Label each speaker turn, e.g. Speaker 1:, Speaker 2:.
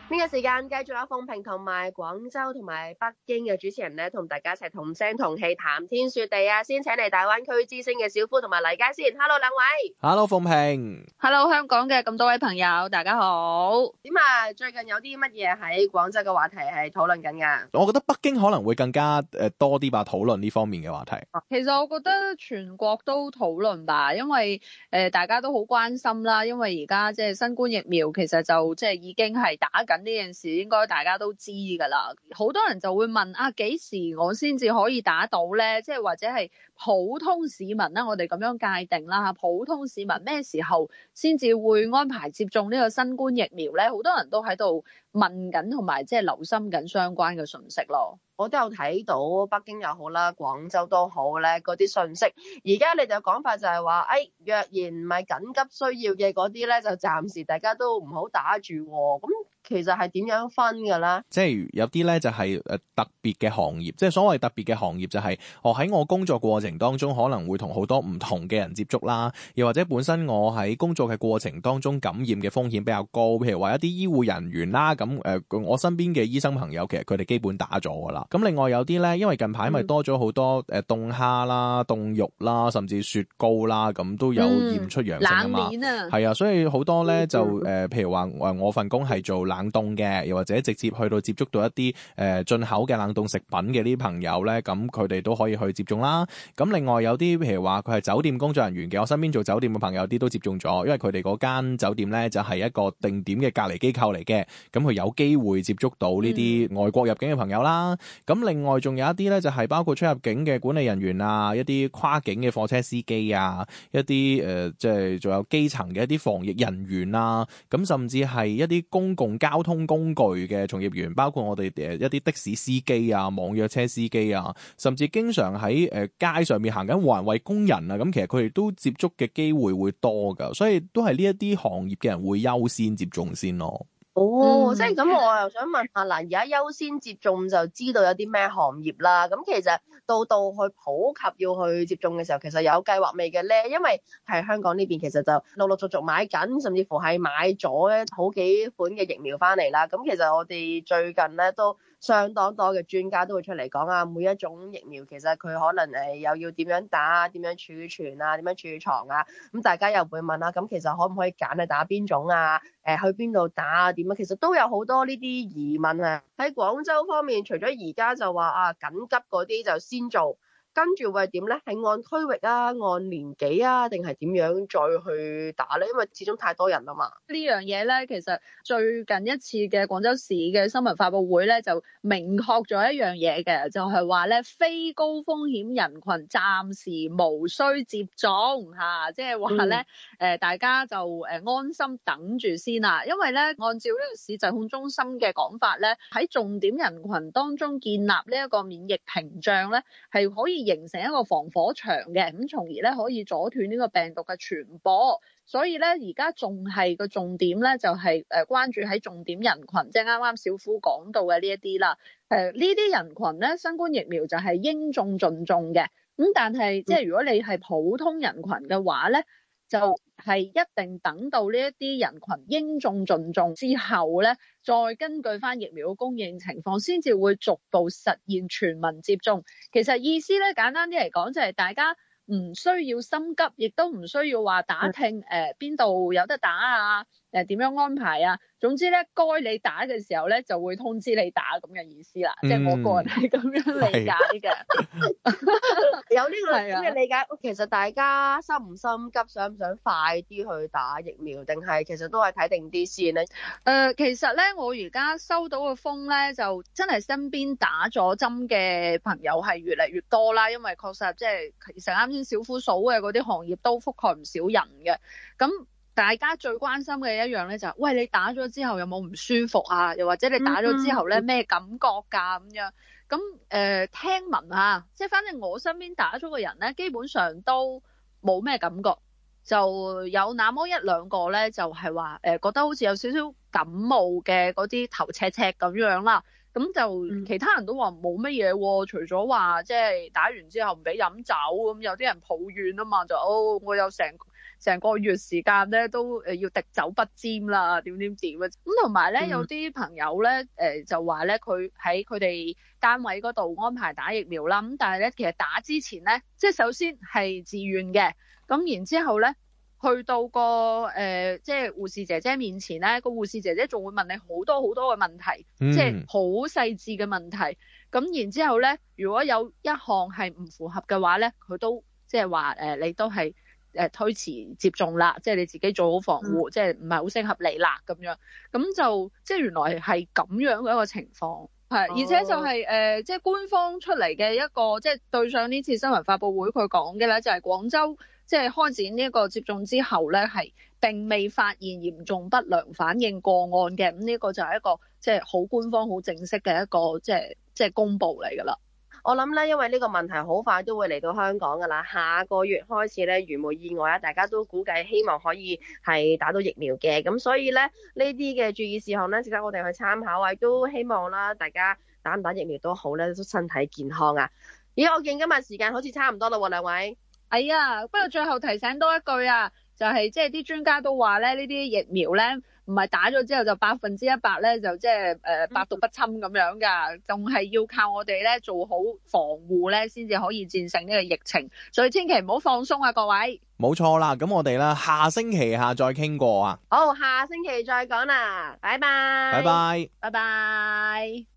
Speaker 1: 呢個時間繼續有鳳萍同埋廣州同埋北京嘅主持人咧，同大家一齊同聲同氣談天說地啊！先請嚟大灣區之星嘅小夫同埋黎佳先 ，Hello 兩位。
Speaker 2: Hello 鳳萍
Speaker 3: Hello 香港嘅咁多位朋友，大家好。
Speaker 1: 點啊？最近有啲乜嘢喺廣州嘅話題係討論緊㗎？
Speaker 2: 我覺得北京可能會更加多啲吧，討論呢方面嘅話題。
Speaker 3: 其實我覺得全國都討論吧，因為大家都好關心啦。因為而家即係新冠疫苗，其實就即係已經係打緊呢件事，應該大家都知㗎啦。好多人就會問啊，幾時我先至可以打到咧？即係或者係普通市民啦，我哋咁樣界定啦嚇。普通市民咩時候先至會安排接種呢個新冠疫苗咧？好多人都喺度問緊，同埋即係留心緊相關嘅信息咯。
Speaker 1: 我都有睇到北京又好啦，廣州都好咧，嗰啲信息。而家你哋嘅講法就係話，若然唔係緊急需要嘅嗰啲咧，就暫時大家都唔好打住喎。咁其實係點樣分㗎啦？
Speaker 2: 即係有啲咧就係特別嘅行業，即係所謂特別嘅行業就係我喺我工作過程當中可能會同好多唔同嘅人接觸啦，又或者本身我喺工作嘅過程當中感染嘅風險比較高，譬如話一啲醫護人員啦，咁我身邊嘅醫生朋友其實佢哋基本打咗㗎啦。咁另外有啲咧，因為近排咪多咗好多凍蝦啦、凍肉啦，甚至雪糕啦，咁都有驗出陽性啊嘛。
Speaker 3: 冷鏈啊，
Speaker 2: 係啊，所以好多咧就譬如話我份工係做冷凍嘅，又或者直接去到接觸到一啲進口嘅冷凍食品嘅呢啲朋友咧，咁佢哋都可以去接種啦。咁另外有啲譬如話佢係酒店工作人員嘅，我身邊做酒店嘅朋友啲都接種咗，因為佢哋嗰間酒店咧就係一個定點嘅隔離機構嚟嘅，咁佢有機會接觸到呢啲外國入境嘅朋友啦。咁另外仲有一啲咧，就係包括出入境嘅管理人員啊，一啲跨境嘅貨車司機啊，一啲即係仲有基層嘅一啲防疫人員啊，咁甚至係一啲公共交通工具嘅從業員，包括我哋一啲的士司機啊、網約車司機啊，甚至經常喺街上面行緊環衛工人啊，咁其實佢哋都接觸嘅機會會多噶，所以都係呢一啲行業嘅人會優先接種先咯。
Speaker 1: 即係咁，我又想問下嗱，而家優先接種就知道有啲咩行業啦。咁其實到去普及要去接種嘅時候，其實有計劃未嘅咧？因為係香港呢邊其實就陸陸續續買緊，甚至乎係買咗咧好幾款嘅疫苗翻嚟啦。咁其實我哋最近咧都相當多嘅專家都會出嚟講啊，每一種疫苗其實佢可能又要點樣打、點樣儲存啊、點樣儲藏啊。咁大家又會問啊，咁其實可唔可以揀係打邊種啊？去邊度打啊？點啊？其實都有好多呢啲疑問啊！喺廣州方面，除咗而家就話緊急嗰啲就先做，跟住會係點咧？係按區域啊、按年紀啊，定係點樣再去打咧？因為始終太多人啦嘛。
Speaker 3: 呢樣嘢咧，其實最近一次嘅廣州市嘅新聞發佈會咧，就明確咗一樣嘢嘅，就係話咧，非高風險人群暫時無需接種嚇，即係話咧大家就安心等住先啦。因為咧，按照呢個市疾控中心嘅講法咧，喺重點人群當中建立呢一個免疫屏障咧，係可以形成一個防火牆嘅，咁從而咧可以阻斷呢個病毒嘅傳播。所以咧，而家仲係個重點咧，就係關注喺重點人群，即係啱啱小夫講到嘅呢一啲啦。呢啲人群咧，新冠疫苗就係應種盡種嘅。咁但係即係如果你係普通人群嘅話咧，就係一定等到呢一啲人群應種盡種之後咧，再根據翻疫苗嘅供應情況，先至會逐步實現全民接種。其實意思咧，簡單啲嚟講，就係大家唔需要心急，亦都唔需要話打聽邊度有得打啊，點樣安排啊。總之咧，該你打嘅時候咧，就會通知你打咁嘅意思啦。即係我個人係咁樣理解嘅。
Speaker 1: 有呢個咁嘅理解。其實大家心唔心急，想唔想快啲去打疫苗，定係其實都係睇定啲先咧？
Speaker 3: 其實咧，我而家收到嘅風咧，就真係身邊打咗針嘅朋友係越嚟越多啦。因為確實即係其實啱先小夫數嘅嗰啲行業都覆蓋唔少人嘅。咁大家最關心嘅一樣咧就係，喂，你打咗之後有冇唔舒服啊？又或者你打咗之後咧咩感覺㗎咁樣？咁聽聞啊，即係反正我身邊打咗嘅人咧，基本上都冇咩感覺，就有那麼一兩個咧，就係話覺得好似有少少感冒嘅嗰啲頭赤赤咁樣啦。咁就其他人都話冇乜嘢喎，除咗話即係打完之後唔俾飲酒咁，有啲人抱怨啊嘛，就我有成成個月時間咧都要滴酒不沾啦，點啊！咁同埋咧，有啲朋友咧就話咧，佢喺佢哋單位嗰度安排打疫苗啦。咁但係咧，其實打之前咧，即係首先係自願嘅，咁然之後咧，去到個即係護士姐姐面前咧，個護士姐姐仲會問你好多好多嘅問題，即係好細緻嘅問題。咁然之後咧，如果有一項係唔符合嘅話咧，佢都即係話你都係推遲接種啦，即係你自己做好防護，即係唔係好適合你啦咁樣。咁就即係原來係咁樣嘅一個情況。係，而且就係即係官方出嚟嘅一個，即係對上呢次新聞發佈會佢講嘅咧，就係廣州即係開展呢一個接種之後咧，係並未發現嚴重不良反應個案嘅。咁呢個就係一個即係好官方、好正式嘅一個即係公佈嚟㗎啦。
Speaker 1: 我諗咧，因為呢個問題好快都會嚟到香港㗎啦，下個月開始咧，如無意外啊，大家都估計希望可以係打到疫苗嘅，咁所以咧呢啲嘅注意事項咧，值得我哋去參考啊，都希望啦，大家打唔打疫苗都好咧，都身體健康啊！咦，我見今日時間好似差唔多啦喎，兩位。
Speaker 3: 哎呀，不過最後提醒多一句啊，就係即係啲專家都話咧，呢啲疫苗咧唔係打咗之後就100%咧就即係百毒不侵咁樣㗎，仲係要靠我哋咧做好防護咧，先至可以戰勝呢個疫情，所以千祈唔好放鬆啊，各位。
Speaker 2: 冇錯啦，咁我哋咧下星期再傾過啊。
Speaker 1: 好，下星期再講啦，拜拜。
Speaker 2: 拜拜。
Speaker 3: 拜拜。